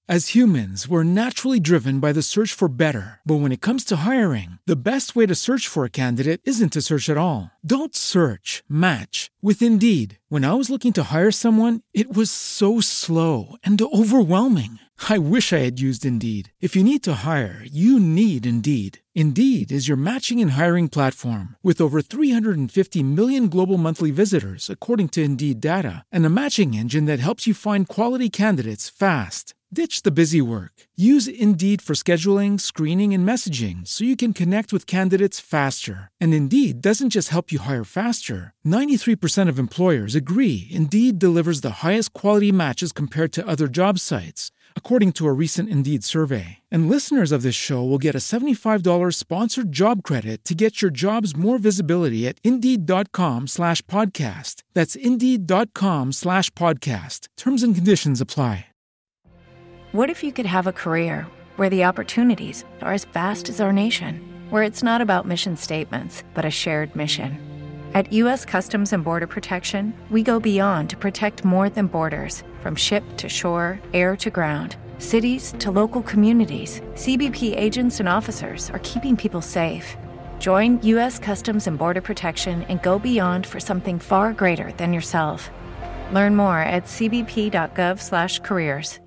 As humans, we're naturally driven by the search for better. But when it comes to hiring, the best way to search for a candidate isn't to search at all. Don't search, match with Indeed. When I was looking to hire someone, it was so slow and overwhelming. I wish I had used Indeed. If you need to hire, you need Indeed. Indeed is your matching and hiring platform with over 350 million global monthly visitors, according to Indeed data, and a matching engine that helps you find quality candidates fast. Ditch the busy work. Use Indeed for scheduling, screening, and messaging so you can connect with candidates faster. And Indeed doesn't just help you hire faster. 93% of employers agree Indeed delivers the highest quality matches compared to other job sites, according to a recent Indeed survey. And listeners of this show will get a $75 sponsored job credit to get your jobs more visibility at Indeed.com/podcast. That's Indeed.com/podcast. Terms and conditions apply. What if you could have a career where the opportunities are as vast as our nation, where it's not about mission statements, but a shared mission? At U.S. Customs and Border Protection, we go beyond to protect more than borders. From ship to shore, air to ground, cities to local communities, CBP agents and officers are keeping people safe. Join U.S. Customs and Border Protection and go beyond for something far greater than yourself. Learn more at cbp.gov/careers.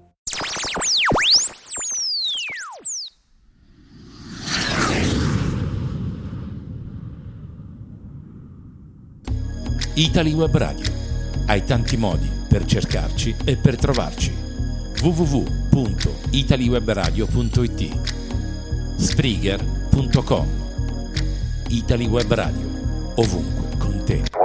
Italy Web Radio. Hai tanti modi per cercarci e per trovarci. www.italywebradio.it, Spreaker.com. Italy Web Radio, ovunque con te. 1, 2, 3,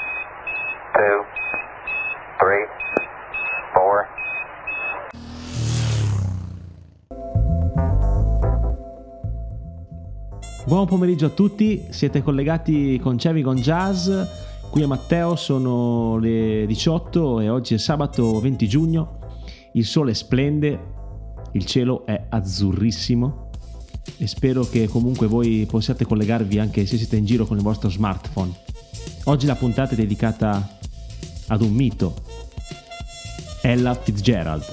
4. Buon pomeriggio a tutti, siete collegati con Cevi con Jazz. Qui è Matteo, sono le 18 e oggi è sabato 20 giugno, il sole splende, il cielo è azzurrissimo e spero che comunque voi possiate collegarvi anche se siete in giro con il vostro smartphone. Oggi la puntata è dedicata ad un mito, Ella Fitzgerald.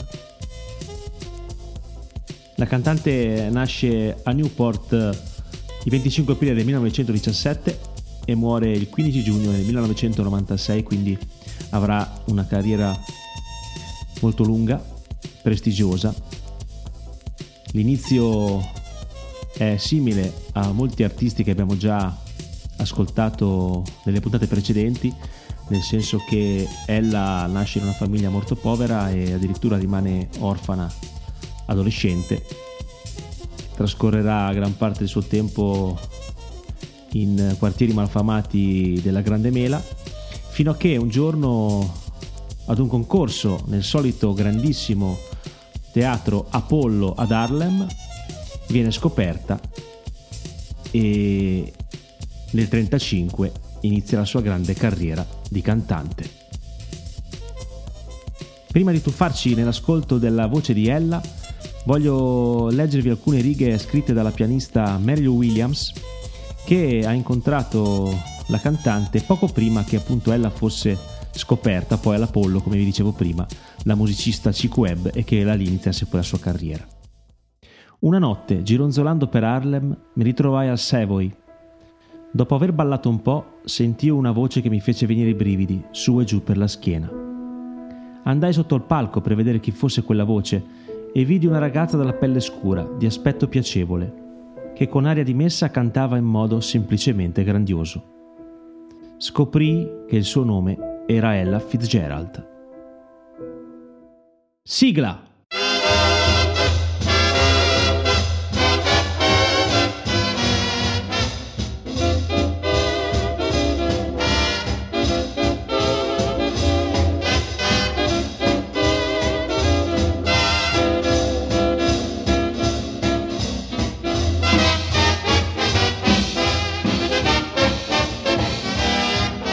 La cantante nasce a Newport il 25 aprile del 1917 e muore il 15 giugno del 1996, quindi avrà una carriera molto lunga, prestigiosa. L'inizio è simile a molti artisti che abbiamo già ascoltato nelle puntate precedenti, nel senso che ella nasce in una famiglia molto povera e addirittura rimane orfana adolescente. Trascorrerà gran parte del suo tempo in quartieri malfamati della Grande Mela, fino a che un giorno ad un concorso nel solito grandissimo teatro Apollo ad Harlem viene scoperta e nel 1935 inizia la sua grande carriera di cantante. Prima di tuffarci nell'ascolto della voce di Ella, voglio leggervi alcune righe scritte dalla pianista Mary Lou Williams, che ha incontrato la cantante poco prima che appunto ella fosse scoperta poi all'Apollo, come vi dicevo prima, la musicista Chick Webb, e che la lì iniziasse poi la sua carriera. Una notte, gironzolando per Harlem, mi ritrovai al Savoy. Dopo aver ballato un po', sentii una voce che mi fece venire i brividi su e giù per la schiena. Andai sotto il palco per vedere chi fosse quella voce e vidi una ragazza dalla pelle scura, di aspetto piacevole, che con aria di messa cantava in modo semplicemente grandioso. Scoprì che il suo nome era Ella Fitzgerald. Sigla!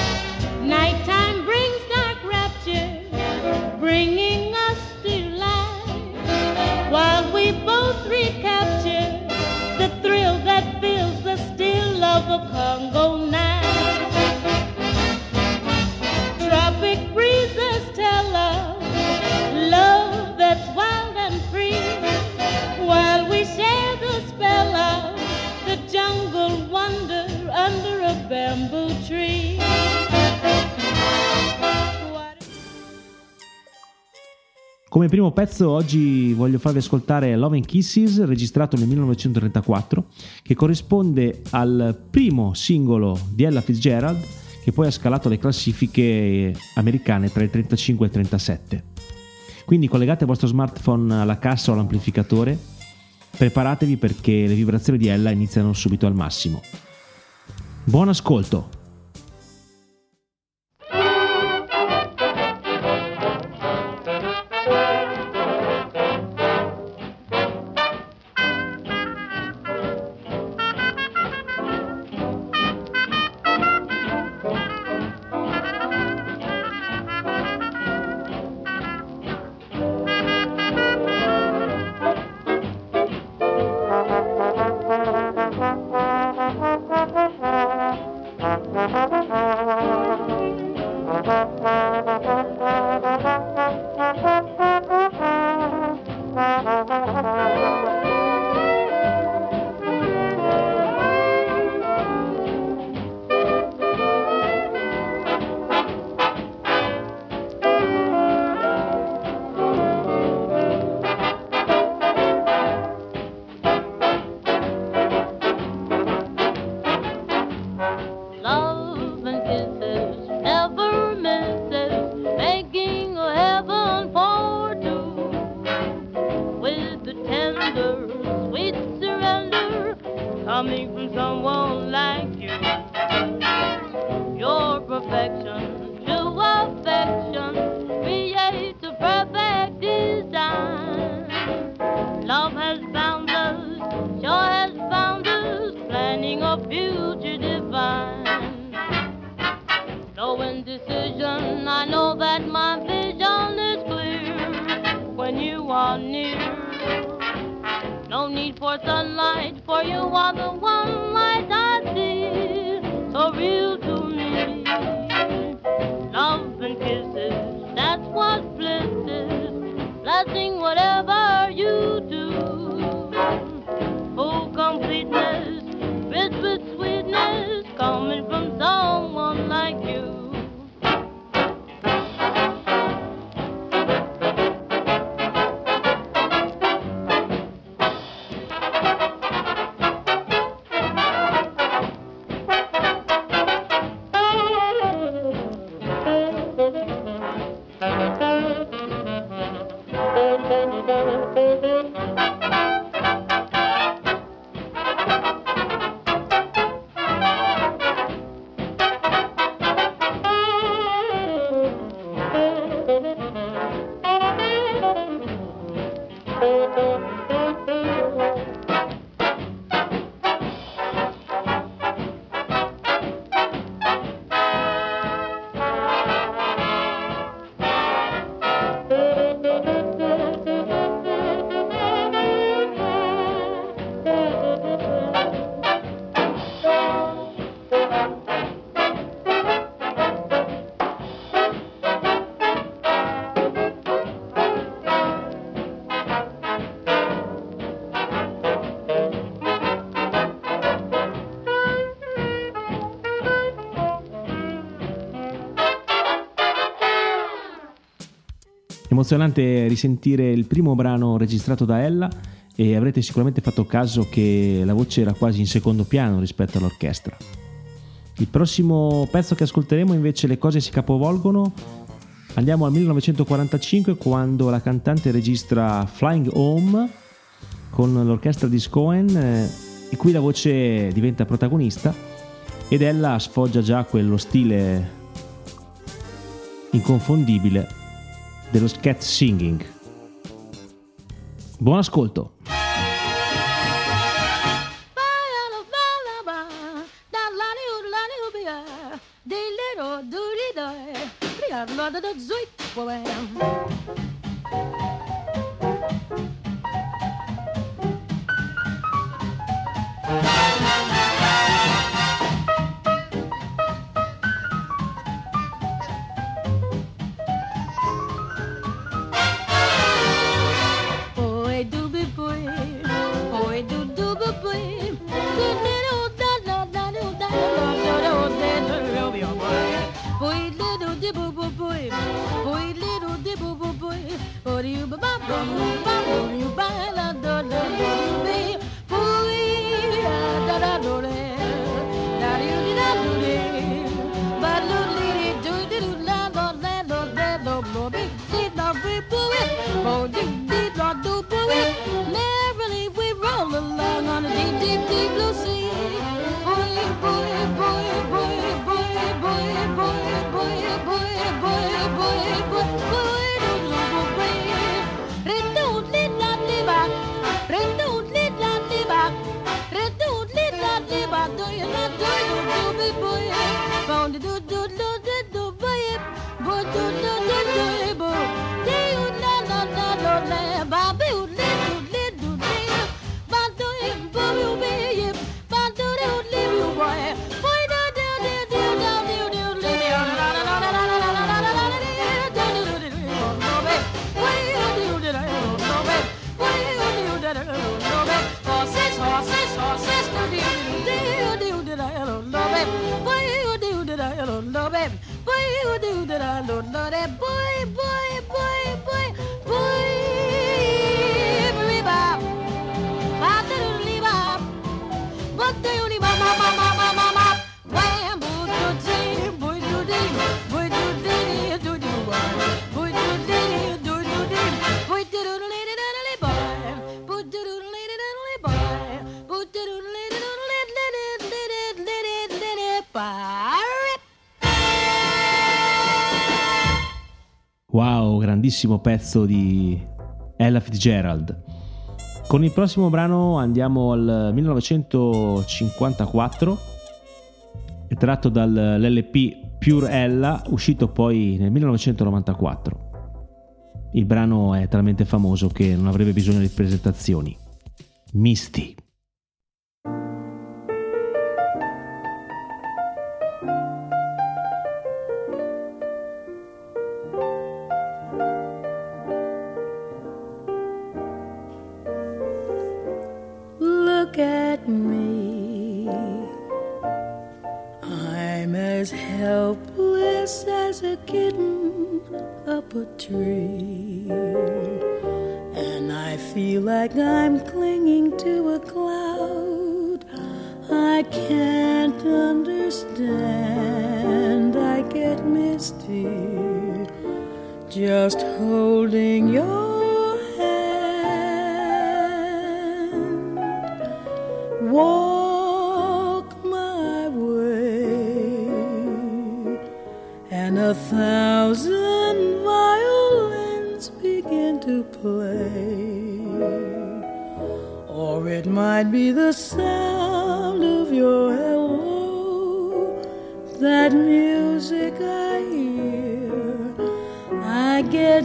Nighttime brings dark rapture, bringing us to life. primo pezzo oggi voglio farvi ascoltare Love and Kisses, registrato nel 1934, che corrisponde al primo singolo di Ella Fitzgerald, che poi ha scalato le classifiche americane tra il 35 e il 37. Quindi collegate il vostro smartphone alla cassa o all'amplificatore, preparatevi perché le vibrazioni di Ella iniziano subito al massimo. Buon ascolto! Coming from someone like you, your perfection, true affection, creates a perfect design. Love has found us, joy has found us, planning a future divine. Slow indecision, I know that my vision is clear when you are near. No need for sunlight, for you are the one light I see, so real to me. Love and kisses, that's what bliss is, blessing whatever you do. Full completeness, rich with sweetness, coming from someone like you. Emozionante risentire il primo brano registrato da Ella, e avrete sicuramente fatto caso che la voce era quasi in secondo piano rispetto all'orchestra. Il prossimo pezzo che ascolteremo invece le cose si capovolgono. Andiamo al 1945, quando la cantante registra Flying Home con l'orchestra di Cohen, in cui la voce diventa protagonista ed Ella sfoggia già quello stile inconfondibile dello scat singing. Buon ascolto. Boy, little Oh, do dee da do boy. Merrily we roll along on a deep, deep, deep blue sea. Boy, boy, boy, boy, boy, boy, boy, boy, boy, boy, boy, boy, boy, do do do boy. Re-do dee da dee ba, re-do dee da dee ba, re-do dee da dee ba. Do you not do do do be boy? Bound do do do do do boy, boy do do do do boy. Do you na na na na na, ba be do do do do, ba do it boy you be, ba do do do boy, boy do do do do do do do do, la la la la la la la la la la la, do do do do no be, boy do do do no be, boy do do do no be, horses horses horses do do do do do no be, boy do do do no be, boy do do do no be, boy boy boy boy boy, bebop, ba do do bop, ba do do bop, ma ma ma ma ma ma, wham, boo do dee, boy do dee, boy do dee, do do boy, boy do dee, do do dee, boy do do lady diddly boy, boy do do lady diddly boy, boy do do lady diddly boy. Wow, grandissimo pezzo di Ella Fitzgerald. Con il prossimo brano andiamo al 1954, è tratto dall'LP Pure Ella, uscito poi nel 1994. Il brano è talmente famoso che non avrebbe bisogno di presentazioni. Misty. Look at me, I'm as helpless as a kitten up a tree, and I feel like I'm clinging to a cloud. I can't understand, I get misty just holding your walk my way, and 1,000 violins begin to play, or it might be the sound of your hello, that music I hear. I get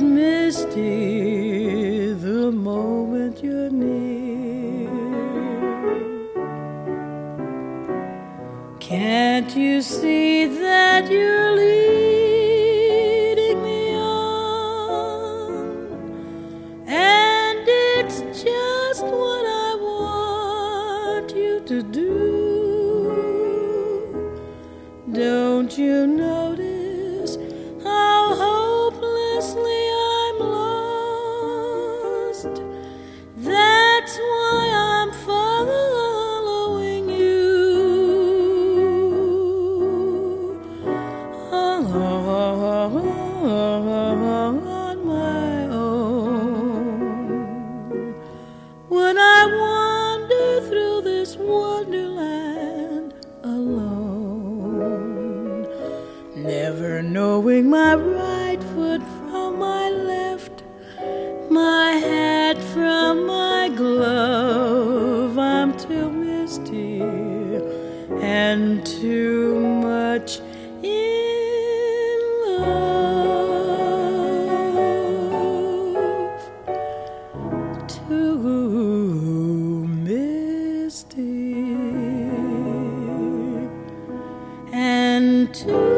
misty the moment you're near. Can't you see that you're leading me on? And it's just what I want you to do. Don't you notice how hopelessly I'm lost? That's why I'm following you on my own. When I wander through this wonderland alone, never knowing my right foot from my left, my hat from my glove, I'm too misty and too much in love, too misty and too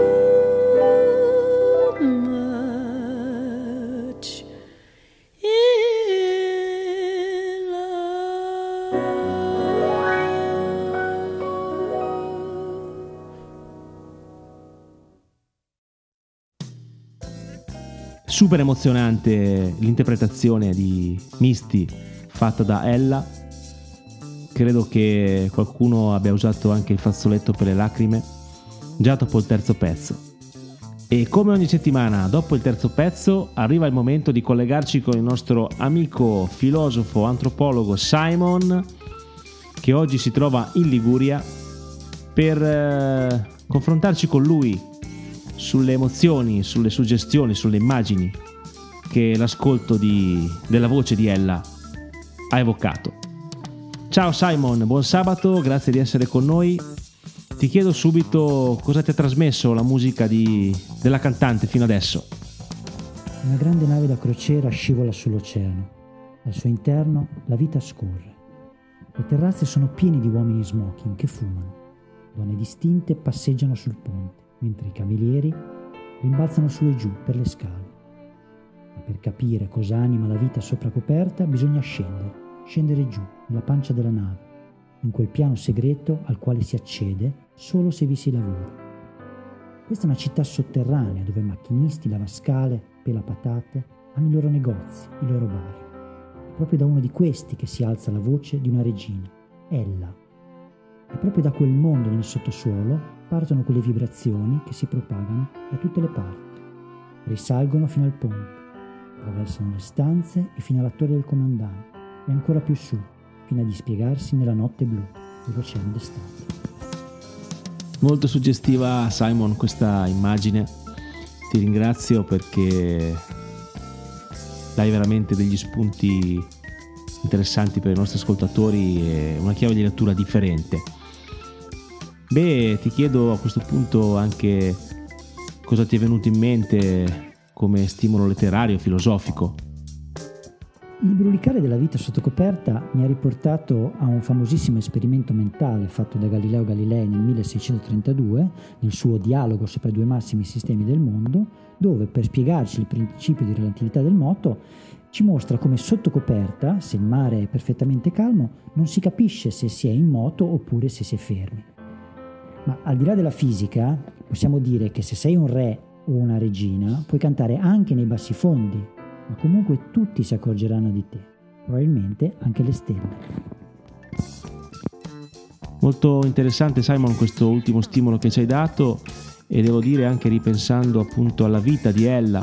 much in love. Super emozionante l'interpretazione di Misty fatta da Ella. Credo che qualcuno abbia usato anche il fazzoletto per le lacrime già dopo il terzo pezzo. E come ogni settimana, dopo il terzo pezzo, arriva il momento di collegarci con il nostro amico, filosofo, antropologo Simon, che oggi si trova in Liguria, per confrontarci con lui sulle emozioni, sulle suggestioni, sulle immagini che l'ascolto della voce di Ella ha evocato. Ciao Simon, buon sabato, grazie di essere con noi. Ti chiedo subito cosa ti ha trasmesso la musica della cantante fino adesso. Una grande nave da crociera scivola sull'oceano. Al suo interno la vita scorre. Le terrazze sono piene di uomini in smoking che fumano. Donne distinte passeggiano sul ponte, mentre i camerieri rimbalzano su e giù per le scale. Ma per capire cosa anima la vita sopra coperta bisogna scendere giù, nella pancia della nave, in quel piano segreto al quale si accede solo se vi si lavora. Questa è una città sotterranea dove macchinisti, lavascale, pelapatate hanno i loro negozi, i loro bar. È proprio da uno di questi che si alza la voce di una regina, Ella. E proprio da quel mondo nel sottosuolo partono quelle vibrazioni che si propagano da tutte le parti. Risalgono fino al ponte, attraversano le stanze e fino alla torre del comandante e ancora più su, fino a dispiegarsi nella notte blu dell'oceano d'estate. Molto suggestiva, Simon, questa immagine. Ti ringrazio perché dai veramente degli spunti interessanti per i nostri ascoltatori e una chiave di lettura differente. Beh, ti chiedo a questo punto anche cosa ti è venuto in mente come stimolo letterario, filosofico. Il brulicare della vita sotto coperta mi ha riportato a un famosissimo esperimento mentale fatto da Galileo Galilei nel 1632, nel suo Dialogo sopra i due massimi sistemi del mondo, dove per spiegarci il principio di relatività del moto ci mostra come sotto coperta, se il mare è perfettamente calmo, non si capisce se si è in moto oppure se si è fermi. Ma al di là della fisica, possiamo dire che se sei un re o una regina, puoi cantare anche nei bassifondi, ma comunque tutti si accorgeranno di te, probabilmente anche le stelle. Molto interessante, Simon, questo ultimo stimolo che ci hai dato, e devo dire anche ripensando appunto alla vita di Ella,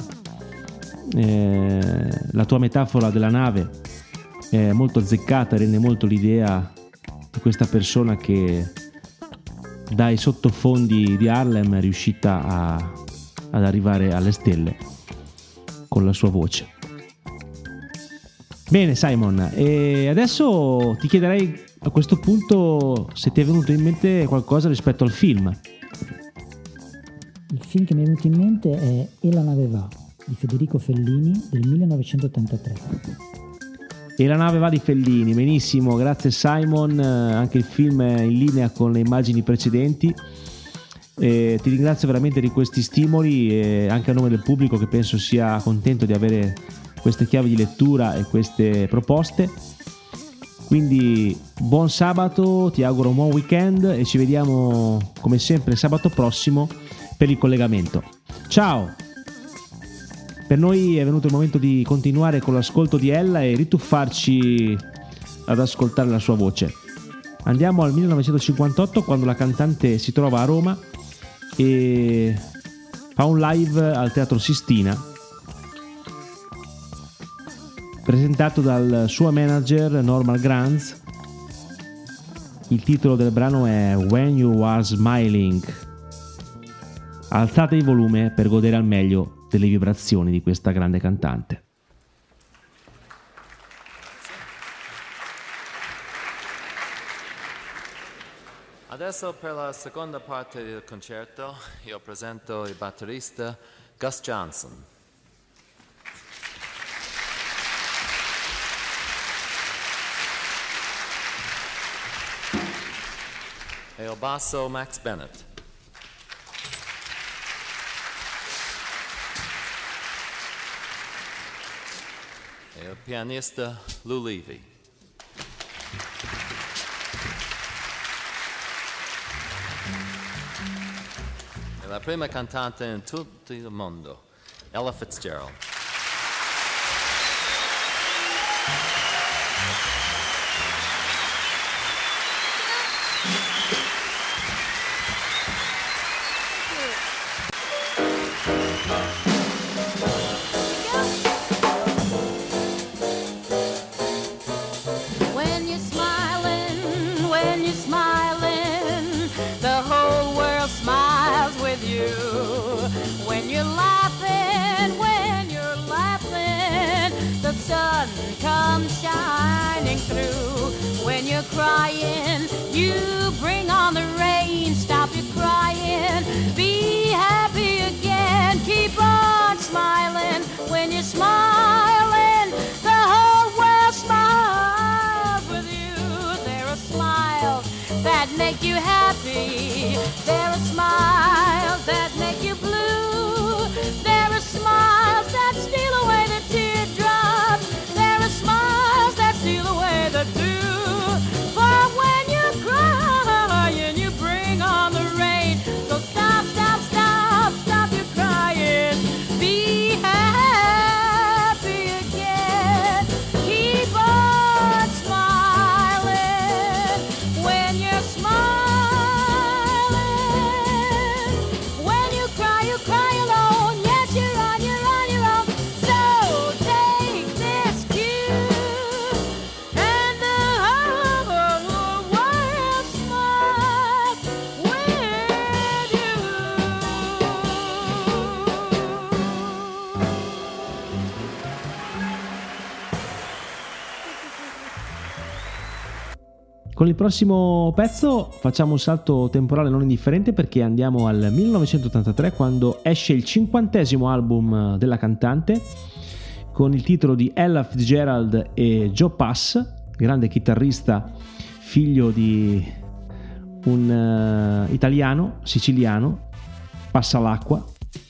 la tua metafora della nave è molto azzeccata, rende molto l'idea di questa persona che dai sottofondi di Harlem è riuscita ad arrivare alle stelle con la sua voce. Bene Simon, e adesso ti chiederei a questo punto se ti è venuto in mente qualcosa rispetto al film. Il film che mi è venuto in mente è E la nave va, di Federico Fellini del 1983. E la nave va di Fellini, benissimo, grazie Simon, anche il film è in linea con le immagini precedenti. Ti ringrazio veramente di questi stimoli e anche a nome del pubblico che penso sia contento di avere queste chiavi di lettura e queste proposte. Quindi buon sabato, ti auguro un buon weekend e ci vediamo come sempre sabato prossimo per il collegamento. Ciao! Per noi è venuto il momento di continuare con l'ascolto di Ella e rituffarci ad ascoltare la sua voce. Andiamo al 1958, quando la cantante si trova a Roma e fa un live al Teatro Sistina presentato dal suo manager Norman Granz. Il titolo del brano è When You Are Smiling. Alzate il volume per godere al meglio delle vibrazioni di questa grande cantante. Adesso per la seconda parte del concerto io presento il batterista Gus Johnson. E il basso Max Bennett. E il pianista Lou Levy. E la prima cantante in tutto il mondo, Ella Fitzgerald. shining through. When you're crying, you bring on the rain. Stop your crying, be happy again. Keep on smiling. When you're smiling, the whole world smiles with you. There are smiles that make you happy. There are smiles that make you blue. There are smiles that steal away the teardrops. There are smiles that steal away the dew. For when you're crying, you bring on the rain. So stop, stop, stop, stop your crying. Be happy again. Keep on smiling. When you're smiling, when you cry alone. Yes, you're on your own. So take this cue, and the whole world smiles with you. Con il prossimo pezzo facciamo un salto temporale non indifferente, perché andiamo al 1983, quando esce il 50° album della cantante, con il titolo di Ella Fitzgerald e Joe Pass, grande chitarrista, figlio di un italiano siciliano, Passalacqua,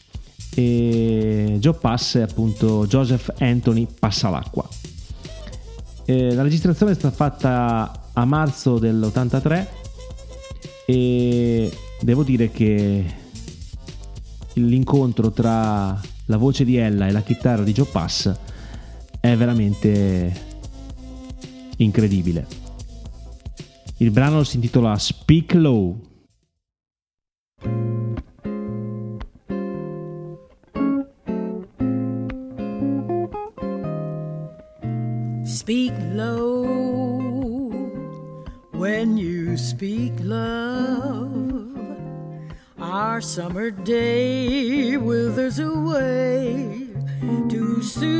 e Joe Pass è appunto Joseph Anthony Passalacqua. La registrazione è stata fatta a marzo dell'83 e devo dire che l'incontro tra la voce di Ella e la chitarra di Joe Pass è veramente incredibile. Il brano si intitola Speak Low. Speak low when you speak love. Our summer day withers away too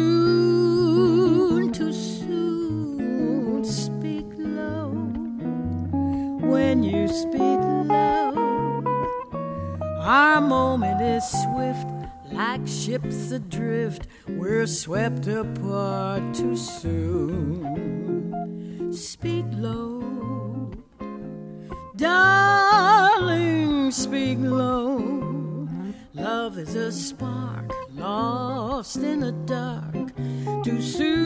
soon, too soon. Speak low when you speak love. Our moment is swift, like ships adrift, we're swept apart too soon. Speak low, darling, speak low. Love is a spark lost in the dark too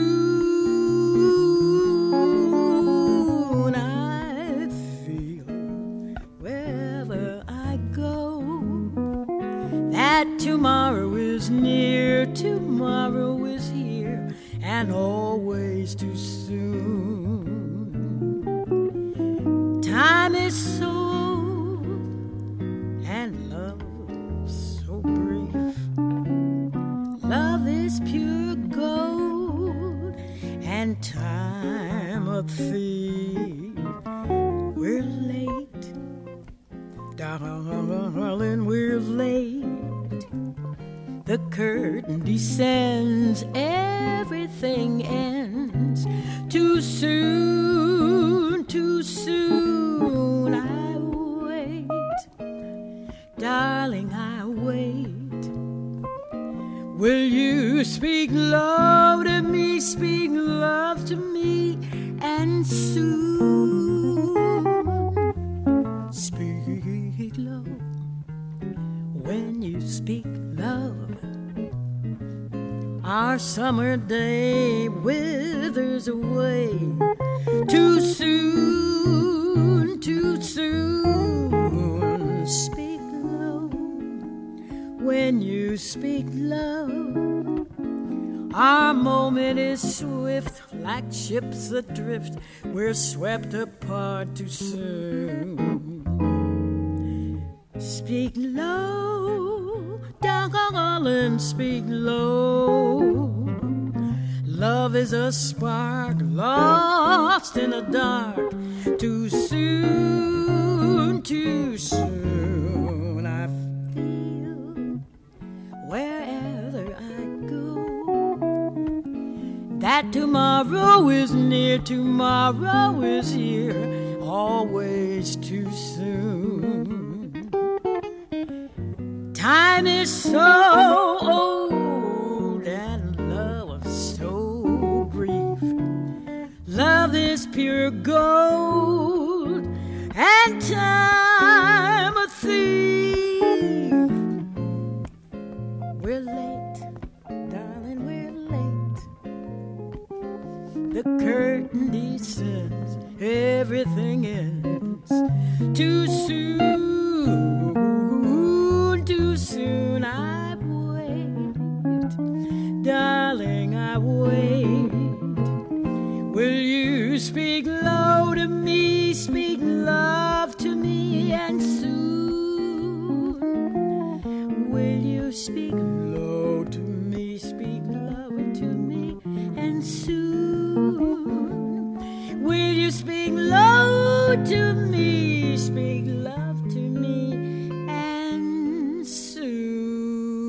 soon. I feel wherever I go that tomorrow is near, tomorrow is here, and always too soon. Time is so old, and love so brief. Love is pure gold, and time a thief. We're late, darling, we're late. The curtain descends, everything ends too soon, too soon. I wait, darling, I wait. Will you speak love to me, speak love to me, and soon speak love when you speak love. Our summer day withers away too soon, too soon. Speak low when you speak love. Our moment is swift, like ships adrift, we're swept apart too soon. Speak low, darling, speak low. Love is a spark lost in the dark too soon, too soon. I feel wherever I go that that tomorrow is near, tomorrow is here, always too soon. Time is so old and love so brief. Love is pure gold and time a thief. We're late, darling, we're late. The curtain descends, everything ends too soon, too soon. I wait, darling, I wait. Will you speak low to me, speak love to me, and soon will you speak low to me, speak love to me, and soon will you speak low to me, speak love to me, and soon.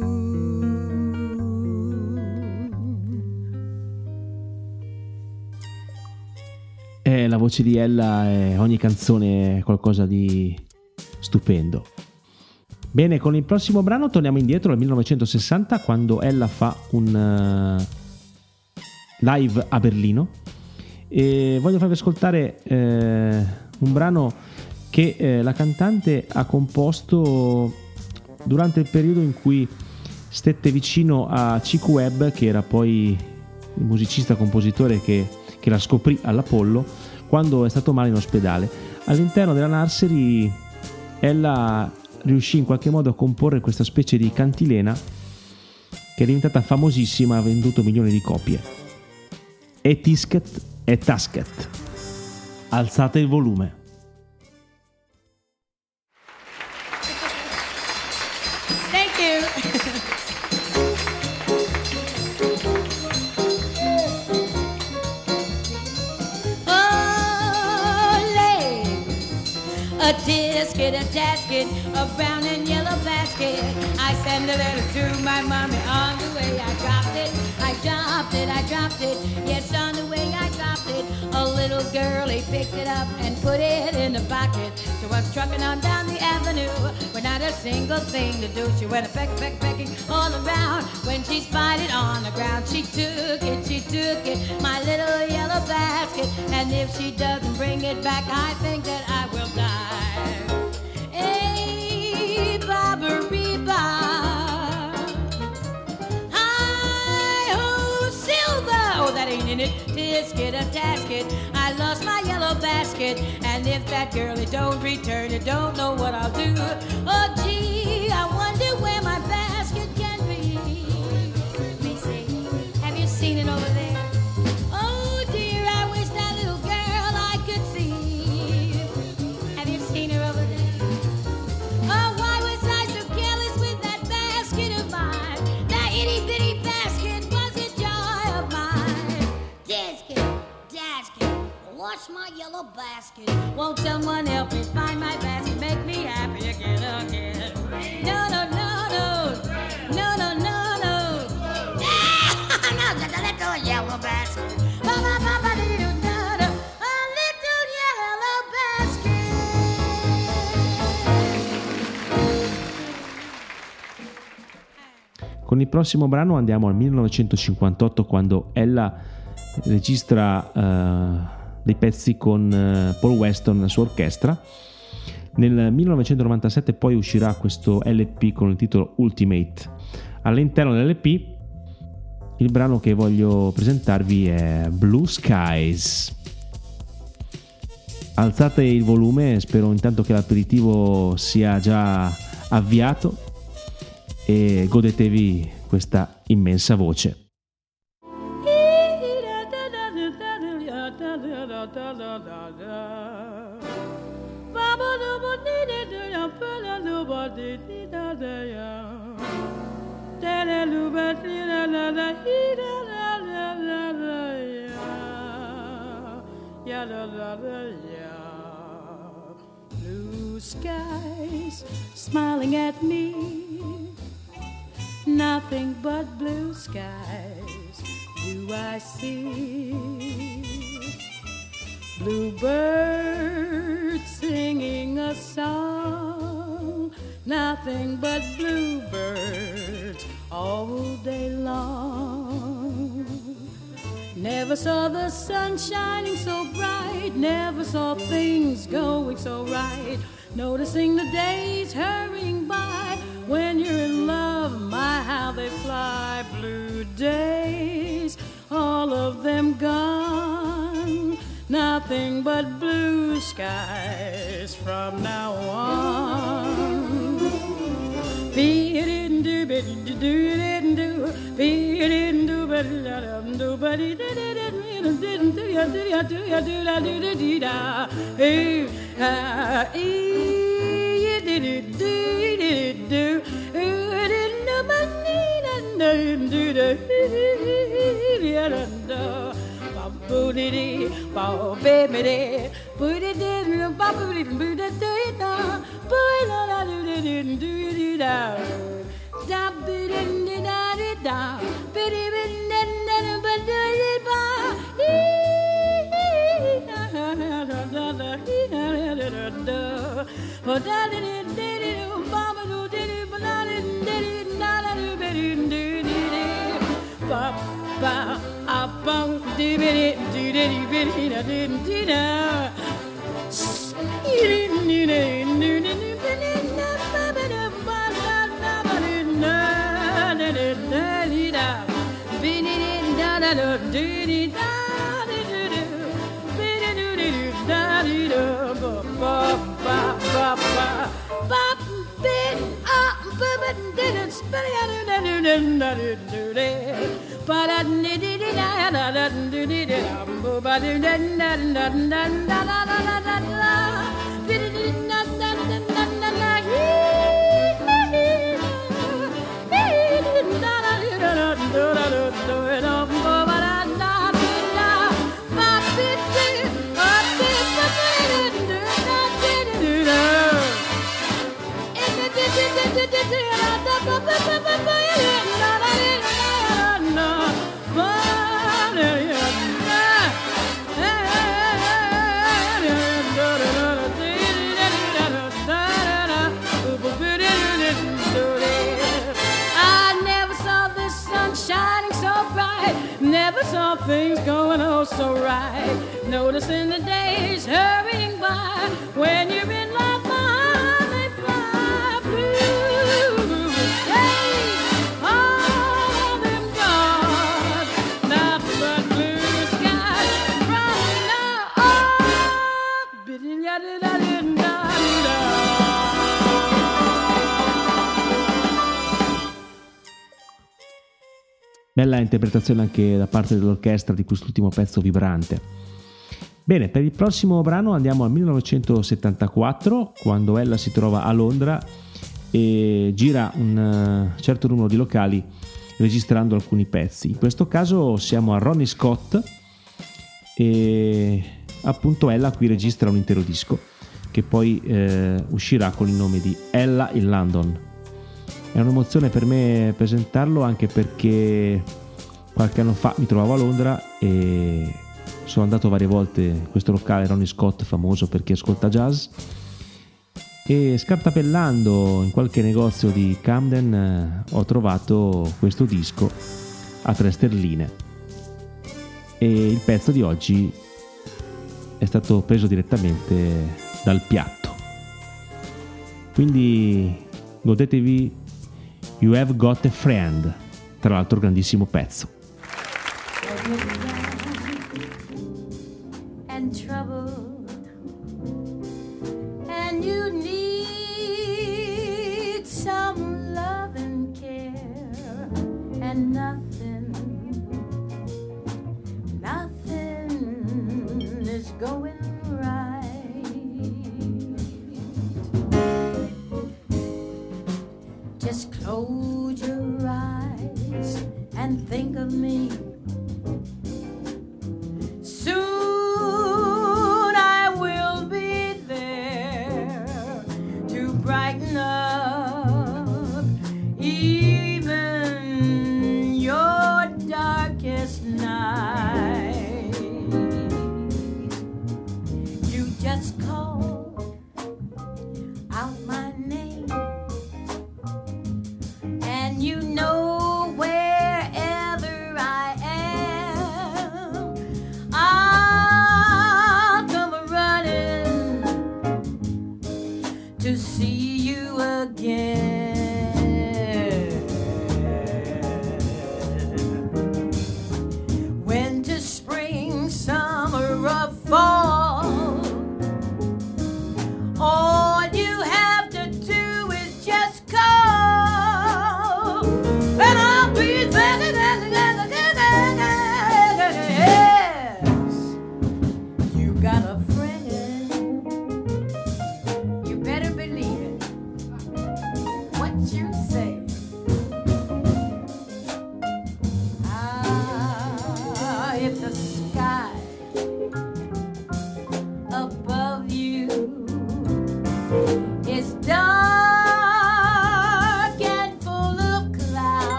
La voce di Ella, ogni canzone è qualcosa di stupendo. Bene, con il prossimo brano torniamo indietro al 1960, quando Ella fa un live a Berlino, e voglio farvi ascoltare un brano che la cantante ha composto durante il periodo in cui stette vicino a Chick Webb, che era poi il musicista compositore che la scoprì all'Apollo quando è stato male in ospedale. All'interno della nursery ella riuscì in qualche modo a comporre questa specie di cantilena che è diventata famosissima, ha venduto milioni di copie. E Tisket e Tasket. Alzate il volume. Thank you. A tisket, a tasket, a brown and yellow basket. I send a letter to my mommy. On the way I dropped it, I dropped it, I dropped it. Yes, on the way I dropped it. A little girlie picked it up and put it in the pocket. So I was trucking on down the avenue with not a single thing to do. She went a pecking all around. When she spied it on the ground, she took it, my little yellow basket. And if she doesn't bring it back, I think that I will die. Hey, Barbary-Bob. Hi-ho, Silver. Oh, that ain't in it. Tisket, a tasket. I lost my yellow basket. And if that girlie don't return it, don't know what I'll do. Oh, gee, I wonder where my basket can be. Let me see. Have you seen it over there? Oh, dear, I wish that little girl I could see. Have you seen her over there? Oh, why was I so careless with that basket of mine? That itty-bitty basket was a joy of mine. Tisket, tasket, wash my yellow basket. Won't someone help me find my basket? Make me happy again. No, no, no, no. No, no, no, no. No, just a little yellow basket. A little yellow basket. Con il prossimo brano andiamo al 1958, quando ella registra dei pezzi con Paul Weston e la sua orchestra. Nel 1997 poi uscirà questo LP con il titolo Ultimate. All'interno dell'LP il brano che voglio presentarvi è Blue Skies. Alzate il volume, spero intanto che l'aperitivo sia già avviato e godetevi questa immensa voce. Blue skies smiling at me, nothing but blue skies. do I see? Bluebirds singing a song, nothing but bluebirds all day long. Never saw the sun shining so bright, never saw things going so right. Noticing the days hurrying by, when you're in love, my how they fly. Blue days, all of them gone, nothing but blue skies from now on. Never saw things going oh so right. Noticing the days hurrying by, when you're in love, my they fly. Blue days, all of them gone, not but blue skies from now Bella interpretazione anche da parte dell'orchestra di quest'ultimo pezzo vibrante. Bene, per il prossimo brano andiamo al 1974, quando Ella si trova a Londra e gira un certo numero di locali registrando alcuni pezzi. In questo caso siamo a Ronnie Scott e appunto Ella qui registra un intero disco che poi uscirà con il nome di Ella in London. È un'emozione per me presentarlo, anche perché qualche anno fa mi trovavo a Londra e sono andato varie volte in questo locale Ronnie Scott, famoso per chi ascolta jazz, e scartapellando in qualche negozio di Camden ho trovato questo disco a 3 sterline e il pezzo di oggi è stato preso direttamente dal piatto, quindi godetevi You Have Got a Friend, tra l'altro grandissimo pezzo. And troubled, and you need some love and care, and nothing is going right. Just close your eyes and think of me. Soon I will be there to brighten up even your darkest night.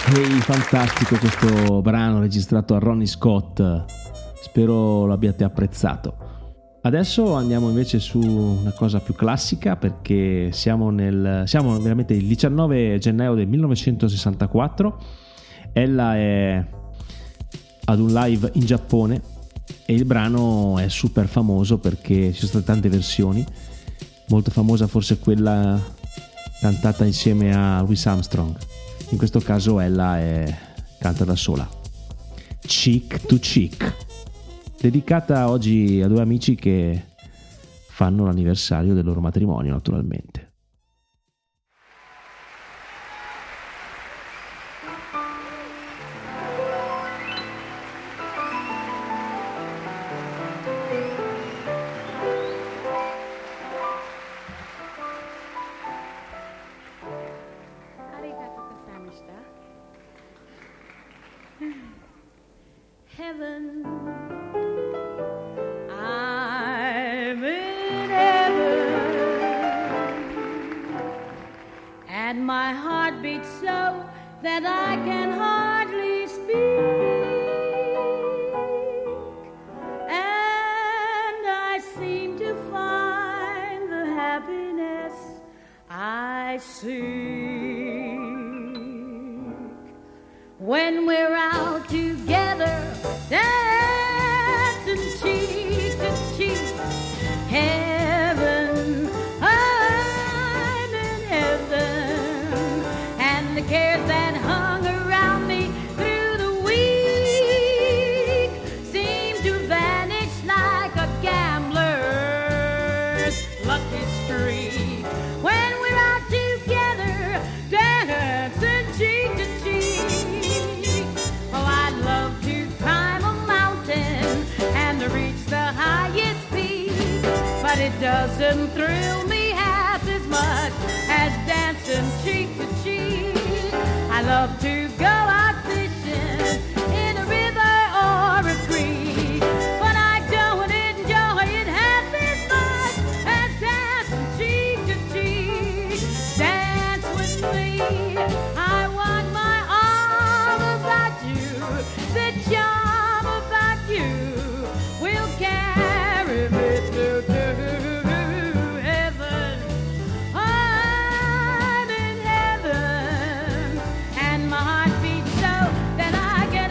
Ehi, fantastico questo brano registrato a Ronnie Scott, spero l'abbiate apprezzato. Adesso andiamo invece su una cosa più classica, perché siamo veramente il 19 gennaio del 1964. Ella è ad un live in Giappone e il brano è super famoso perché ci sono state tante versioni. Molto famosa forse quella cantata insieme a Louis Armstrong. In questo caso ella canta da sola. Cheek to Cheek, dedicata oggi a due amici che fanno l'anniversario del loro matrimonio, naturalmente. Heaven, I'm in heaven, and my heart beats so that I can hardly speak, and I seem to find the happiness I seek when we're out together, dancing cheek to cheek. Heaven, I'm in heaven, and the cares that hung around me through the week seem to vanish like a gambler's lucky streak when we're out together, dancing cheek to cheek. Oh, I'd love to climb a mountain and reach the highest peak, but it doesn't thrill me half as much as dancing cheek to cheek. I love to go out fishing in a river or a creek, but I don't enjoy it half as much as dancing cheek to cheek. Dance with me, I want my arm about you, the charm about you will carry me through to heaven. I'm in heaven, and my heart beats so that I can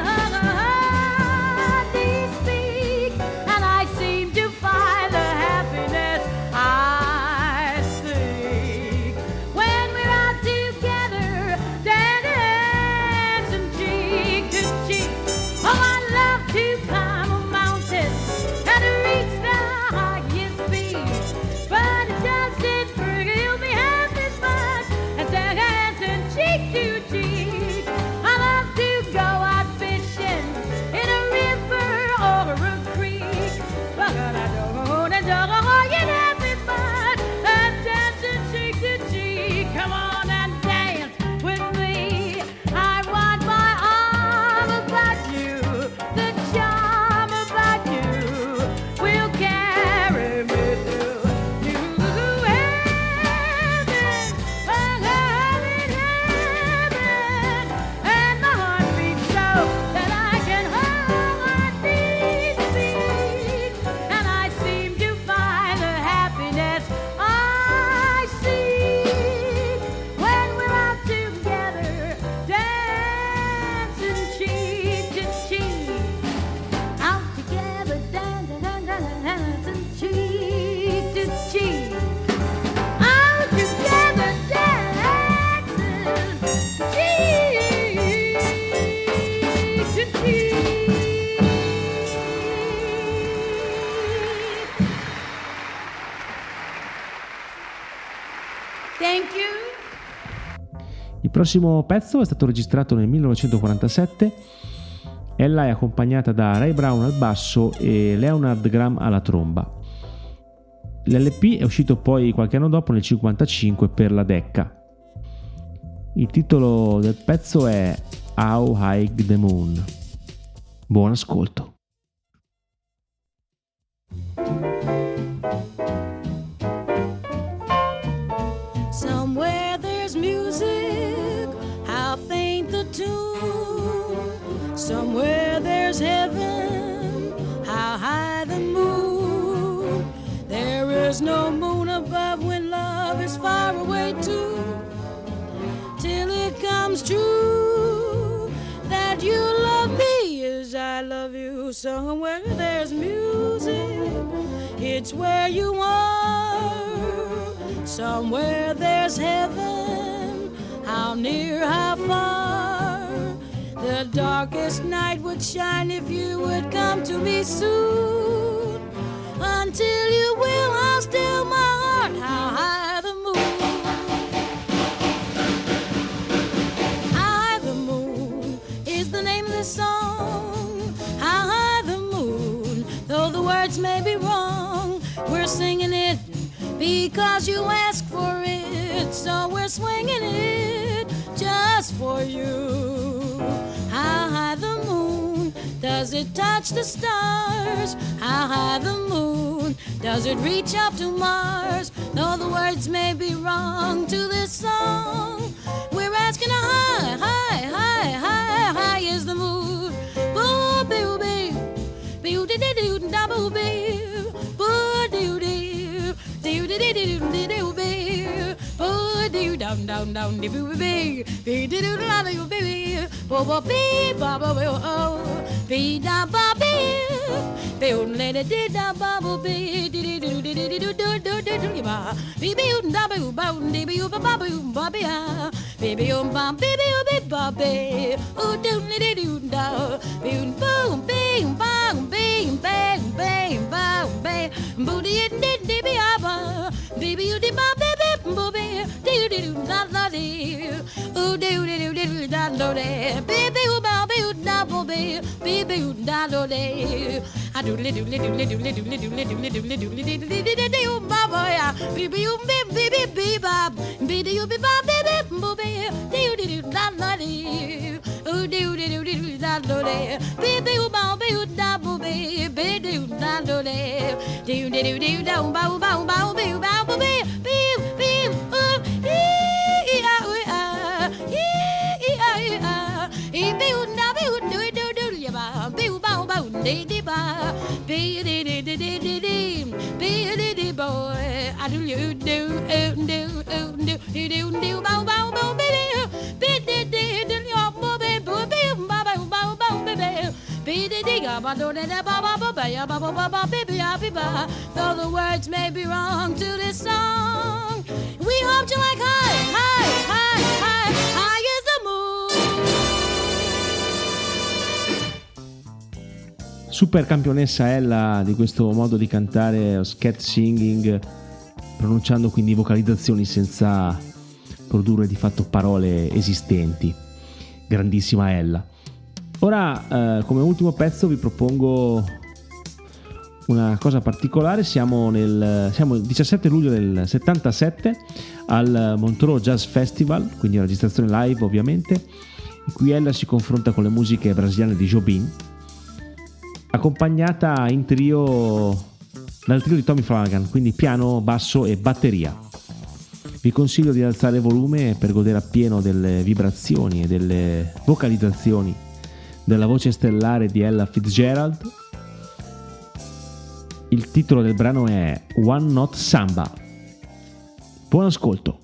hardly speak, and I seem to find the happiness I seek when we're out together, dancing cheek to cheek. Oh, I love to climb a mountain and reach the highest peak, but it doesn't thrill me half as much as dancing cheek to cheek. I love to go out fishing in a river or a creek, but I don't enjoy it half as much as dancing cheek to cheek. Come on and dance with me. I want my arm about you, the charm about you will carry me through to heaven. I'm in heaven, and my heart beats so that I can hardly speak, and I seem to find the happiness I seek when we're out together, dancing cheek to cheek. Out together, dancing cheek to cheek. Out together, dancing cheek to cheek. Thank you. Il prossimo pezzo è stato registrato nel 1947. Ella è accompagnata da Ray Brown al basso e Leonard Graham alla tromba. L'LP è uscito poi qualche anno dopo, nel 1955, per la Decca. Il titolo del pezzo è How High the Moon. Buon ascolto. Somewhere there's music, how faint the tune. Somewhere there's heaven, how high the moon. There is no moon above when love is far away too. Till it comes true that you love me as I love you. Somewhere there's music, it's where you are. Somewhere there's heaven, how near, how far. The darkest night would shine if you would come to me soon. Until you will, I'll still my heart, how high the moon. High the moon is the name of the song. How high the moon, though the words may be wrong. We're singing it because you asked for it. So we're swinging it just for you. How high the moon, does it touch the stars? How high the moon, does it reach up to Mars? Though the words may be wrong to this song, we're asking how high, high, high, high, high is the moon. Boo boo boo, boo doo doo doo da boo boo, boo doo doo, doo doo doo doo doo doo boo, boo doo down down down doo boo boo, boo doo doo da doo boo, boo boo bee ba ba boo oh, bee da ba bee, boo let it dee da ba boo bee, doo doo doo doo doo doo doo doo doo ba, bee bee da boo ba dee bee ba ba boo ba bee ah, bee bee ba bee bee ba bee, oh doo doo doo da, boo boom bing bang bing bang bang bang bang, boo dee dee dee bee ah, bee bee dee ba bee bee boo bee, doo doo doo da da dee, oh doo doo doo da da dee, bee bee ba bee da boo bee, bee bee da da dee, I do little little little little little little little little little little little baba ya, bee bee bee bee bee ba, bee doo bee ba bee bee boo bee, doo doo doo da da dee, oh doo doo doo da da dee, bee bee ba bee da boo bee, bee doo da da dee, doo doo doo da ba ba ba bee ba boo bee, bee bee oh ee ah ah ee ah ah ee bee da bee doo doo doo ya ba bee ba ba dee dee ba bee dee dee dee dee dee dee bee dee dee boy I do you do do do do do ba ba ba baby bee dee dee dee ya ba bee ba ba ba ba baby bee dee dee ga ba do dee ba ba ba ba ya ba ba ba ba baby ya be ba. Though the words may be wrong to this song, we hope you like high, high, high, high, high as the moon. Super campionessa Ella di questo modo di cantare, scat singing, pronunciando quindi vocalizzazioni senza produrre di fatto parole esistenti. Grandissima Ella. Ora come ultimo pezzo vi propongo una cosa particolare. Siamo il 17 luglio del 77 al Montreux Jazz Festival, quindi una registrazione live ovviamente, in cui Ella si confronta con le musiche brasiliane di Jobim, accompagnata in trio dal trio di Tommy Flanagan, quindi piano, basso e batteria. Vi consiglio di alzare il volume per godere appieno delle vibrazioni e delle vocalizzazioni della voce stellare di Ella Fitzgerald. Il titolo del brano è One Note Samba. Buon ascolto.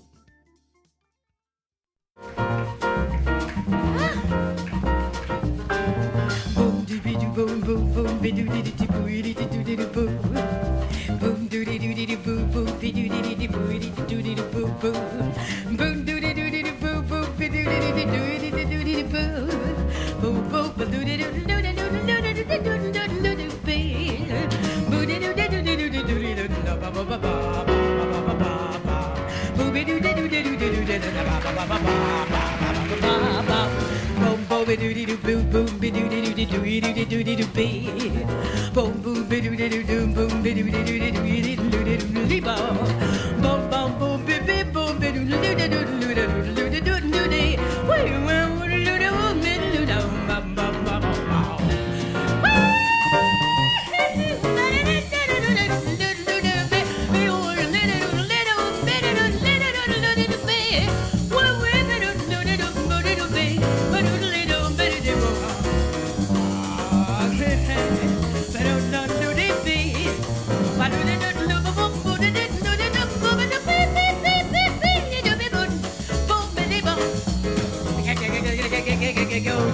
it goes.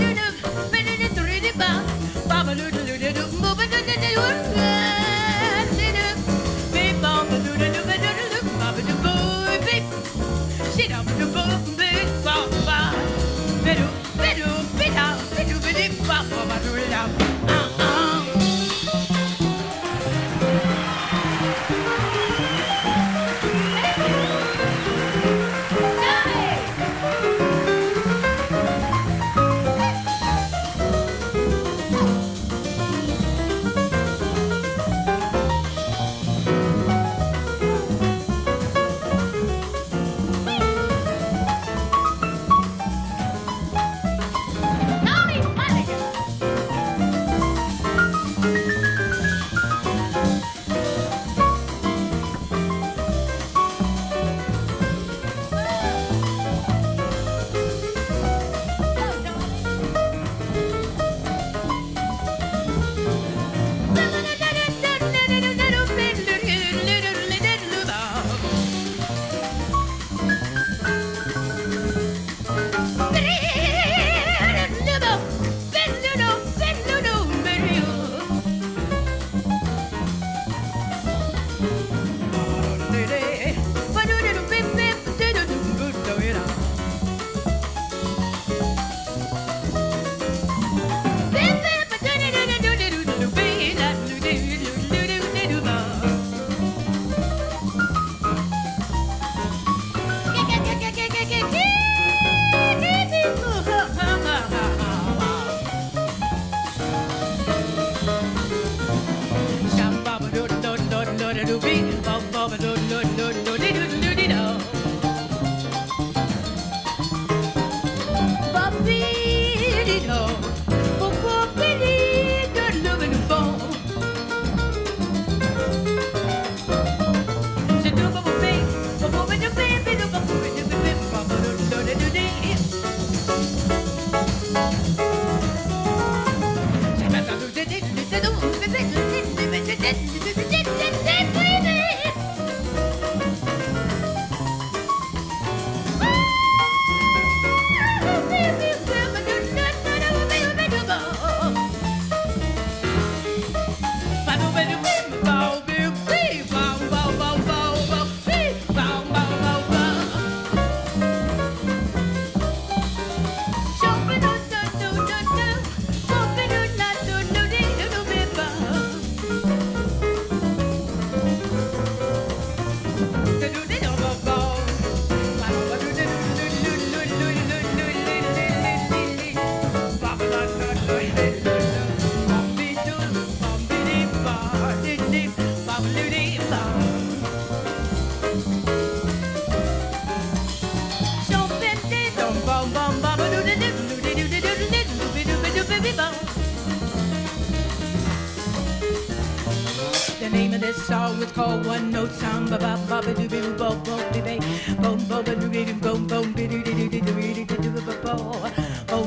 The name of this song is called One Note Samba ba ba ba doo boo bo bo be be bo bo ba doo doo boom boom be doo doo doo doo doo doo bo bo bo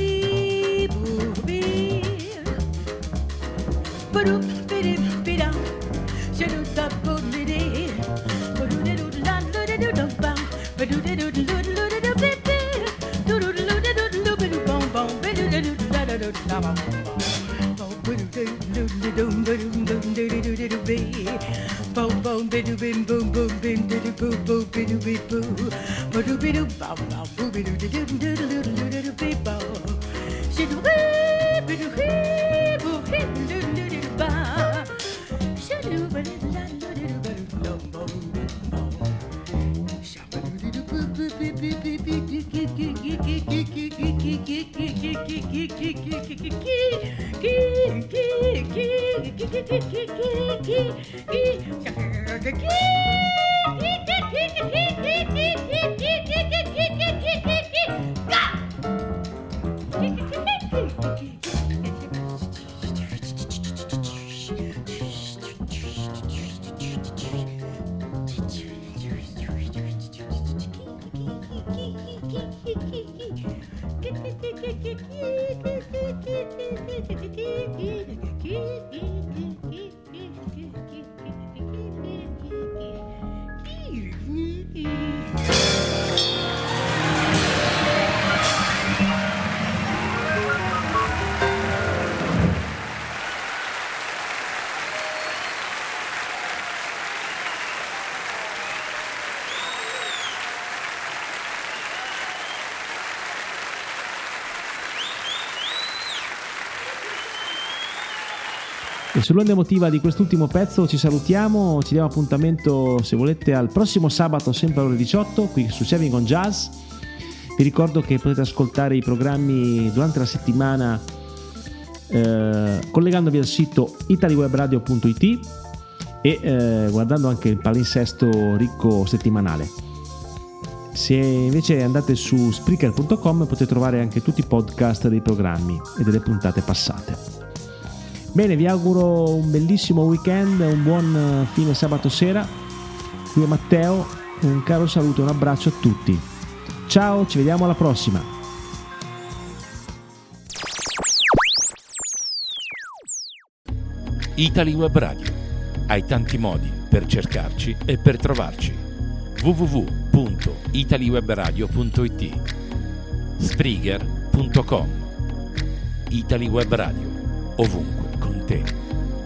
be boo be ba doo be doo be down shoo da boo be dee ba doo doo la doo doo doo ba ba doo doo doo doo doo doo be be doo doo doo doo doo be doo boom boom be doo doo doo da da doo da ba boom boom boom bidoo bim boom boom bim didoo boo boo bidoo bee boo bidoo bidoo bow bow boo bidoo didoo didoo didoo didoo bee bow shidoo wee bidoo wee boo hee didoo didoo bow shidoo bidoo la didoo bidoo no bow bow shabadoo didoo boo boo bee bee bee bee gee gee gee gee gee gee gee gee gee gee gee gee gee E sull'onda emotiva di quest'ultimo pezzo ci salutiamo, ci diamo appuntamento, se volete, al prossimo sabato sempre alle ore 18 qui su Saving on Jazz. Vi ricordo che potete ascoltare i programmi durante la settimana collegandovi al sito italiwebradio.it e guardando anche il palinsesto ricco settimanale. Se invece andate su Spreaker.com potete trovare anche tutti i podcast dei programmi e delle puntate passate. Bene, vi auguro un bellissimo weekend, un buon fine sabato sera. Qui è Matteo, un caro saluto e un abbraccio a tutti. Ciao, ci vediamo alla prossima. Italy Web Radio. Hai tanti modi per cercarci e per trovarci. www.italywebradio.it, Spreaker.com. Italy Web Radio, ovunque con te.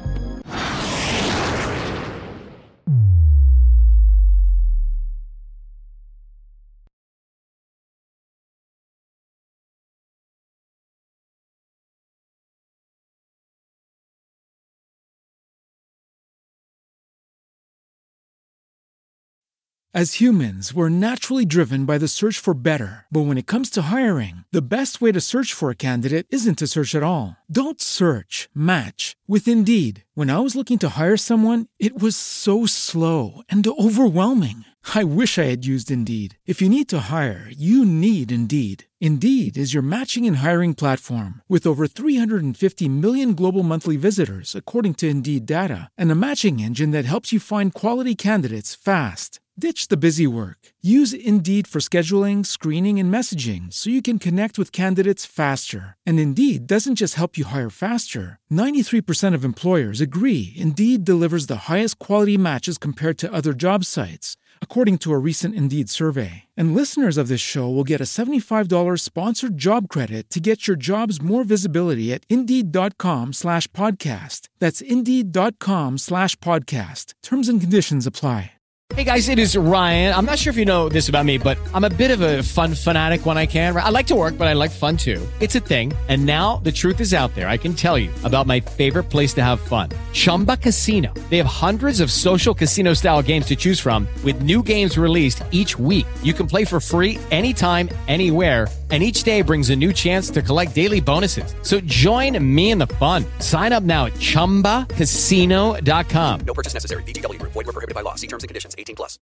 As humans, we're naturally driven by the search for better. But when it comes to hiring, the best way to search for a candidate isn't to search at all. Don't search, match with Indeed. When I was looking to hire someone, it was so slow and overwhelming. I wish I had used Indeed. If you need to hire, you need Indeed. Indeed is your matching and hiring platform with over 350 million global monthly visitors, according to Indeed data, and a matching engine that helps you find quality candidates fast. Ditch the busy work. Use Indeed for scheduling, screening, and messaging so you can connect with candidates faster. And Indeed doesn't just help you hire faster. 93% of employers agree Indeed delivers the highest quality matches compared to other job sites, according to a recent Indeed survey. And listeners of this show will get a $75 sponsored job credit to get your jobs more visibility at Indeed.com/podcast. That's Indeed.com/podcast. Terms and conditions apply. Hey guys, it is Ryan. I'm not sure if you know this about me, but I'm a bit of a fun fanatic when I can. I like to work, but I like fun too. It's a thing. And now the truth is out there. I can tell you about my favorite place to have fun. Chumba Casino. They have hundreds of social casino style games to choose from with new games released each week. You can play for free anytime, anywhere. And each day brings a new chance to collect daily bonuses. So join me in the fun. Sign up now at ChumbaCasino.com. No purchase necessary. VGW Group. Void where prohibited by law. See terms and conditions. 18+.